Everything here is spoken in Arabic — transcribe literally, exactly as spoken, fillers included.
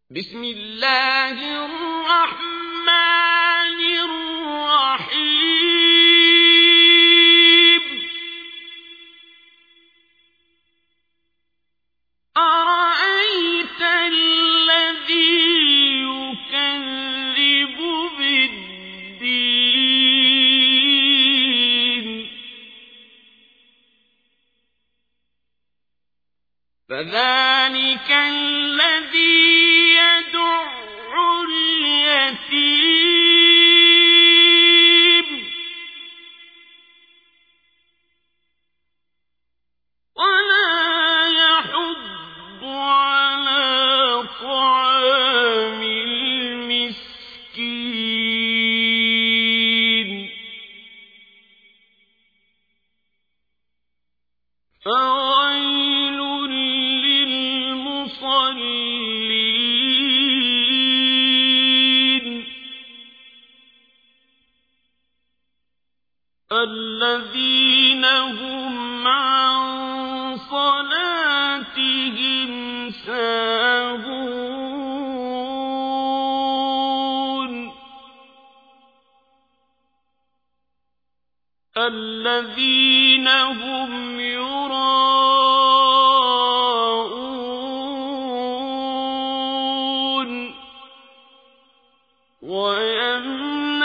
بسم الله الرحمن الرحيم أرأيت الذي يكذب بالدين فذلك الذي يدع اليتيم ولا يحض على طعام المسكين فويل للمصلين الذين هم عن صلاتهم ساهون الذين هم يراءون ويمنعون